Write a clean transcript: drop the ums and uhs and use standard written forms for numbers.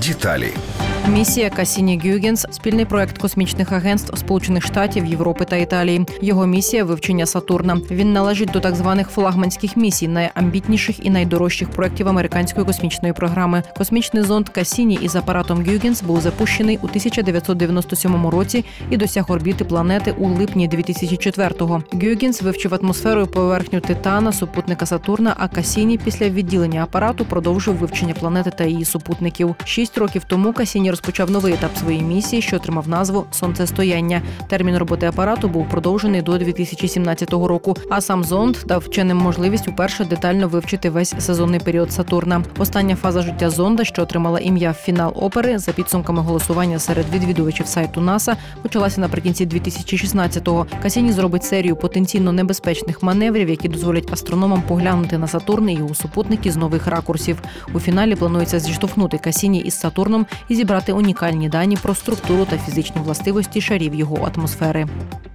Деталі. Місія Кассіні-Гюйгенс – спільний проект космічних агентств Сполучених Штатів, Європи та Італії. Його місія – вивчення Сатурна. Він належить до так званих флагманських місій, найамбітніших і найдорожчих проєктів американської космічної програми. Космічний зонд Кассіні із апаратом Гюйгенс був запущений у 1997 році і досяг орбіти планети у липні 2004-го. Гюйгенс вивчив атмосферу і поверхню Титана, супутника Сатурна, а Кассіні після відділення апарату продовжив вивчення планети та її супутників. 6 років тому Кассіні розпочав новий етап своєї місії, що отримав назву «Сонцестояння». Термін роботи апарату був продовжений до 2017 року, а сам зонд дав вченим можливість уперше детально вивчити весь сезонний період Сатурна. Остання фаза життя зонда, що отримала ім'я «Фінал опери», за підсумками голосування серед відвідувачів сайту НАСА, почалася наприкінці 2016-го. Кассіні зробить серію потенційно небезпечних маневрів, які дозволять астрономам поглянути на Сатурн і його супутники з нових ракурсів. У фіналі планується зіштовхнути Кассіні із Сатурном і зібрати унікальні дані про структуру та фізичні властивості шарів його атмосфери.